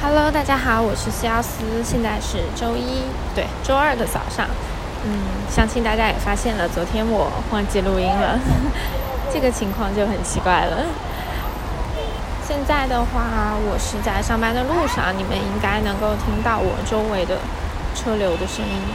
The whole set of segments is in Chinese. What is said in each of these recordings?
Hello， 大家好，我是西奥斯，现在是周二的早上。相信大家也发现了，昨天我忘记录音了，这个情况就很奇怪了。现在的话，我是在上班的路上，你们应该能够听到我周围的车流的声音。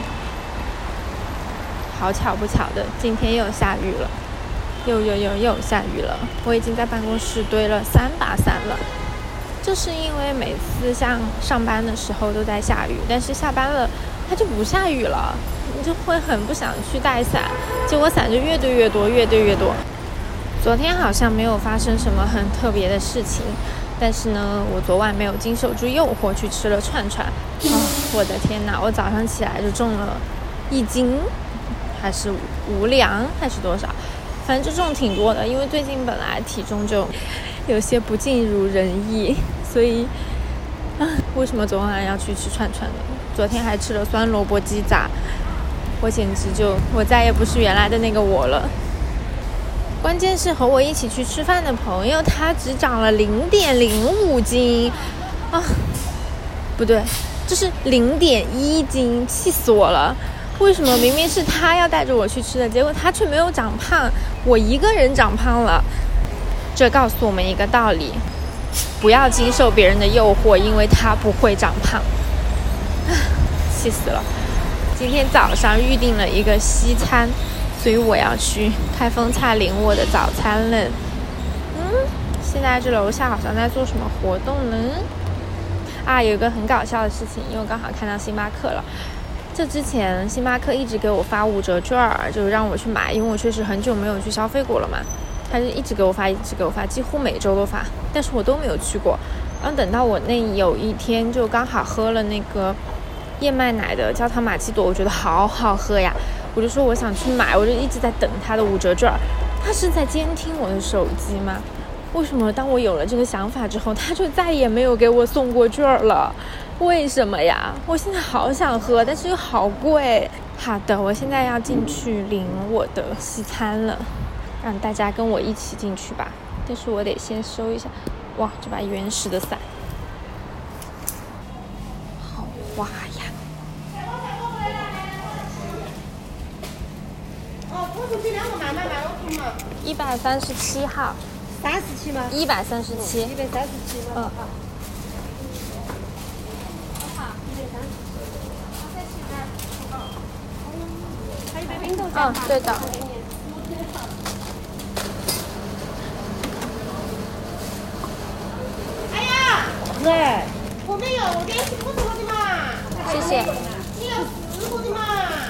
好巧不巧的，今天又下雨了，又下雨了。我已经在办公室堆了3把伞了。就是因为每次像上班的时候都在下雨，但是下班了它就不下雨了，你就会很不想去带伞，结果伞就越堆越多。昨天好像没有发生什么很特别的事情，但是呢，我昨晚没有经受住诱惑去吃了串串。我的天哪，我早上起来就重了1斤，还是5两还是多少，反正就重挺多的，因为最近本来体重就有些不尽如人意，所以为什么昨晚要去吃串串呢？昨天还吃了酸萝卜鸡杂，我简直我再也不是原来的那个我了。关键是和我一起去吃饭的朋友，他只长了0.05斤不对，就是0.1斤，气死我了！为什么明明是他要带着我去吃的，结果他却没有长胖，我一个人长胖了？这告诉我们一个道理，不要经受别人的诱惑，因为他不会长胖。气死了！今天早上预定了一个西餐，所以我要去开封菜领我的早餐了。现在这楼下好像在做什么活动呢？有一个很搞笑的事情，因为我刚好看到星巴克了。这之前星巴克一直给我发5折券，就是让我去买，因为我确实很久没有去消费过了嘛。他就一直给我发，几乎每周都发，但是我都没有去过。然后等到我有一天就刚好喝了那个燕麦奶的焦糖玛奇朵，我觉得好好喝呀，我就说我想去买，我就一直在等他的5折券。他是在监听我的手机吗？为什么当我有了这个想法之后，他就再也没有给我送过券了？为什么呀？我现在好想喝，但是又好贵。好的，我现在要进去领我的西餐了，让大家跟我一起进去吧。但是我得先收一下，哇，这把原始的伞好花呀！ 我出去2个慢慢我听嘛。 137号。 37吗 ？137。137 吗？好。还有一杯冰豆浆。 对的。 哎呀，对，我没有，我给你4个的嘛。 谢谢。 你要4个的嘛。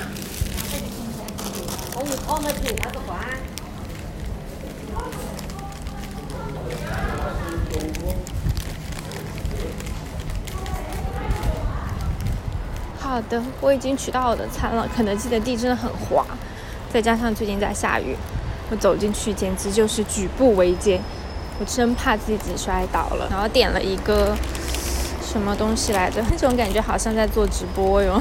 我们订那个饭。 好的，我已经取到我的餐了。肯德基的地真的很滑，再加上最近在下雨，我走进去简直就是举步维艰，我真怕自己摔倒了。然后点了一个什么东西来着，这种感觉好像在做直播哟。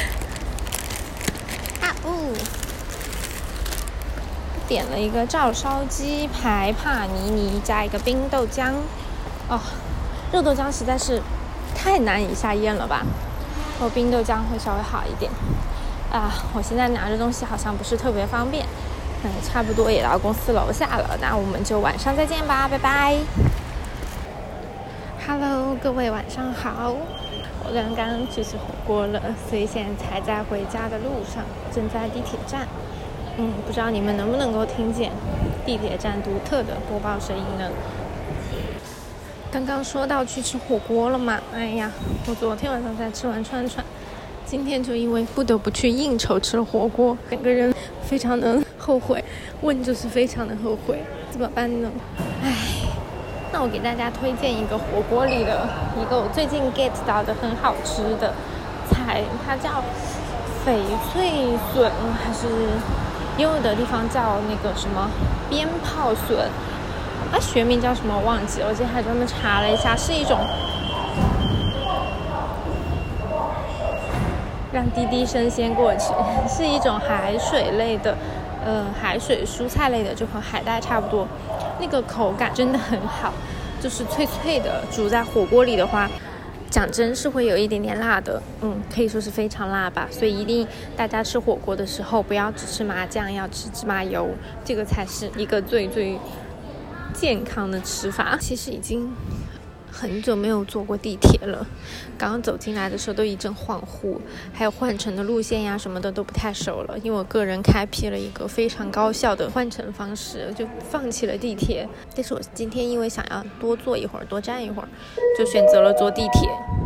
点了一个照烧鸡排帕尼尼加一个冰豆浆。热豆浆实在是太难以下咽了吧，冰豆浆会稍微好一点。我现在拿着东西好像不是特别方便，差不多也到公司楼下了，那我们就晚上再见吧，拜拜。Hello， 各位晚上好，我刚刚去吃火锅了，所以现在才在回家的路上，正在地铁站。不知道你们能不能够听见地铁站独特的播报声音呢？刚刚说到去吃火锅了嘛，我昨天晚上才吃完串串，今天就因为不得不去应酬吃了火锅，整个人非常的后悔，就是非常的后悔，怎么办呢？那我给大家推荐一个火锅里的一个我最近 get 到的很好吃的菜，它叫翡翠笋，还是也有的地方叫那个什么鞭炮笋，学名叫什么我忘记了，我今天还专门查了一下，是一种让滴滴生鲜过去，是一种海水类的海水蔬菜类的，就和海带差不多，那个口感真的很好，就是脆脆的，煮在火锅里的话讲真是会有一点点辣的，可以说是非常辣吧。所以一定大家吃火锅的时候不要只吃麻酱，要吃芝麻油，这个才是一个最健康的吃法。其实已经很久没有坐过地铁了，刚刚走进来的时候都一阵恍惚，还有换乘的路线呀什么的都不太熟了，因为我个人开辟了一个非常高效的换乘方式，就放弃了地铁。但是我今天因为想要多坐一会儿，多站一会儿，就选择了坐地铁。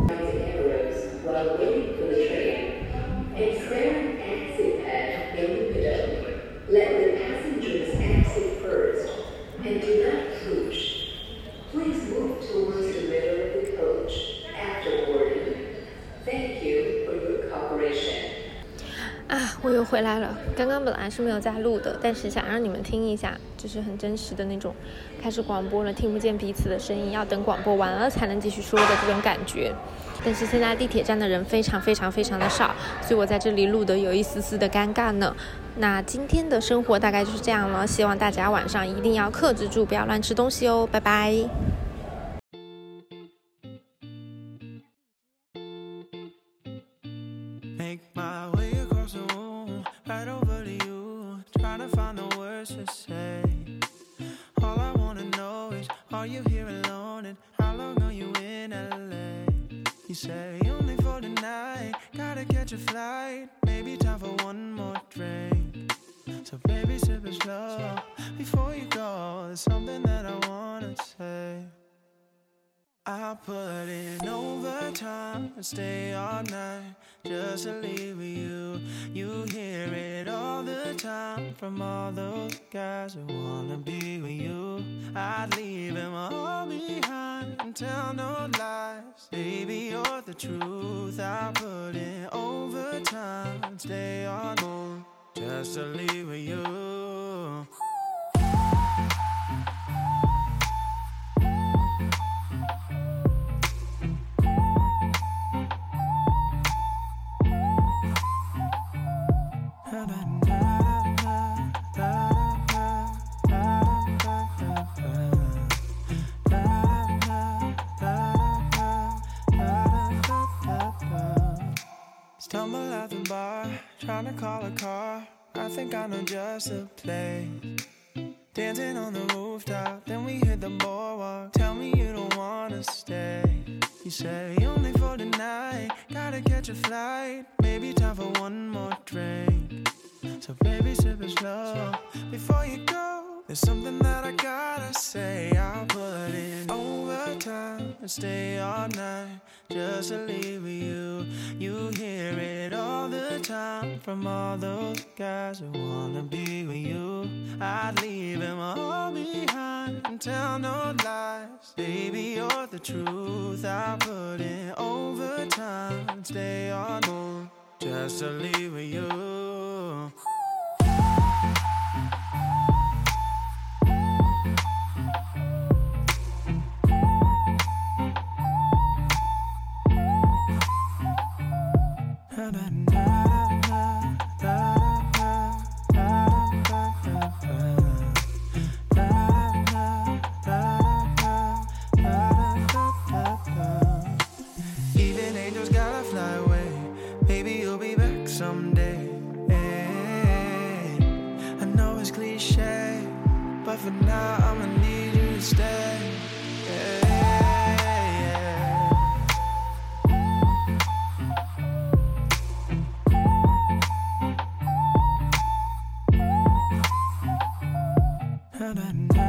我又回来了，刚刚本来是没有在录的，但是想让你们听一下，就是很真实的那种开始广播了听不见彼此的声音，要等广播完了才能继续说的这种感觉。但是现在地铁站的人非常非常非常的少，所以我在这里录的有一丝丝的尴尬呢。那今天的生活大概就是这样了，希望大家晚上一定要克制住，不要乱吃东西哦，拜拜。Make my way across the room, right over to you, trying to find the words to say. All I wanna know is, are you here alone, and how long are you in LA? You say only for tonight, gotta catch a flight, maybe time for one more drink. So baby sip it slow, before you go, there's something that I wanna say. I put in overtime and stay all night just to leave with you. You hear it all the time from all those guys who wanna be with you. I'd leave them all behind and tell no lies. Baby, you're the truth. I put in overtime and stay all night just to leave with you. Stumble out the bar, trying to call a car. I think I know just the place. Dancing on the rooftop, then we hit the boardwalk. Tell me you don't wanna stay. You say only for tonight, gotta catch a flight, maybe time for one more drink. So baby sip it slow, before you go, there's something that I gotta say. I'll put in overtime and stay all night just to leave with you. You hear it all the time from all those guys who wanna be with you. I'd leave them all behind and tell no lies. Baby, you're the truth. I put in overtime and stay all night just to leave with you. Even angels gotta fly away. Maybe you'll be back someday. Hey, I know it's cliche, but for now I'ma need you to stay. Hey,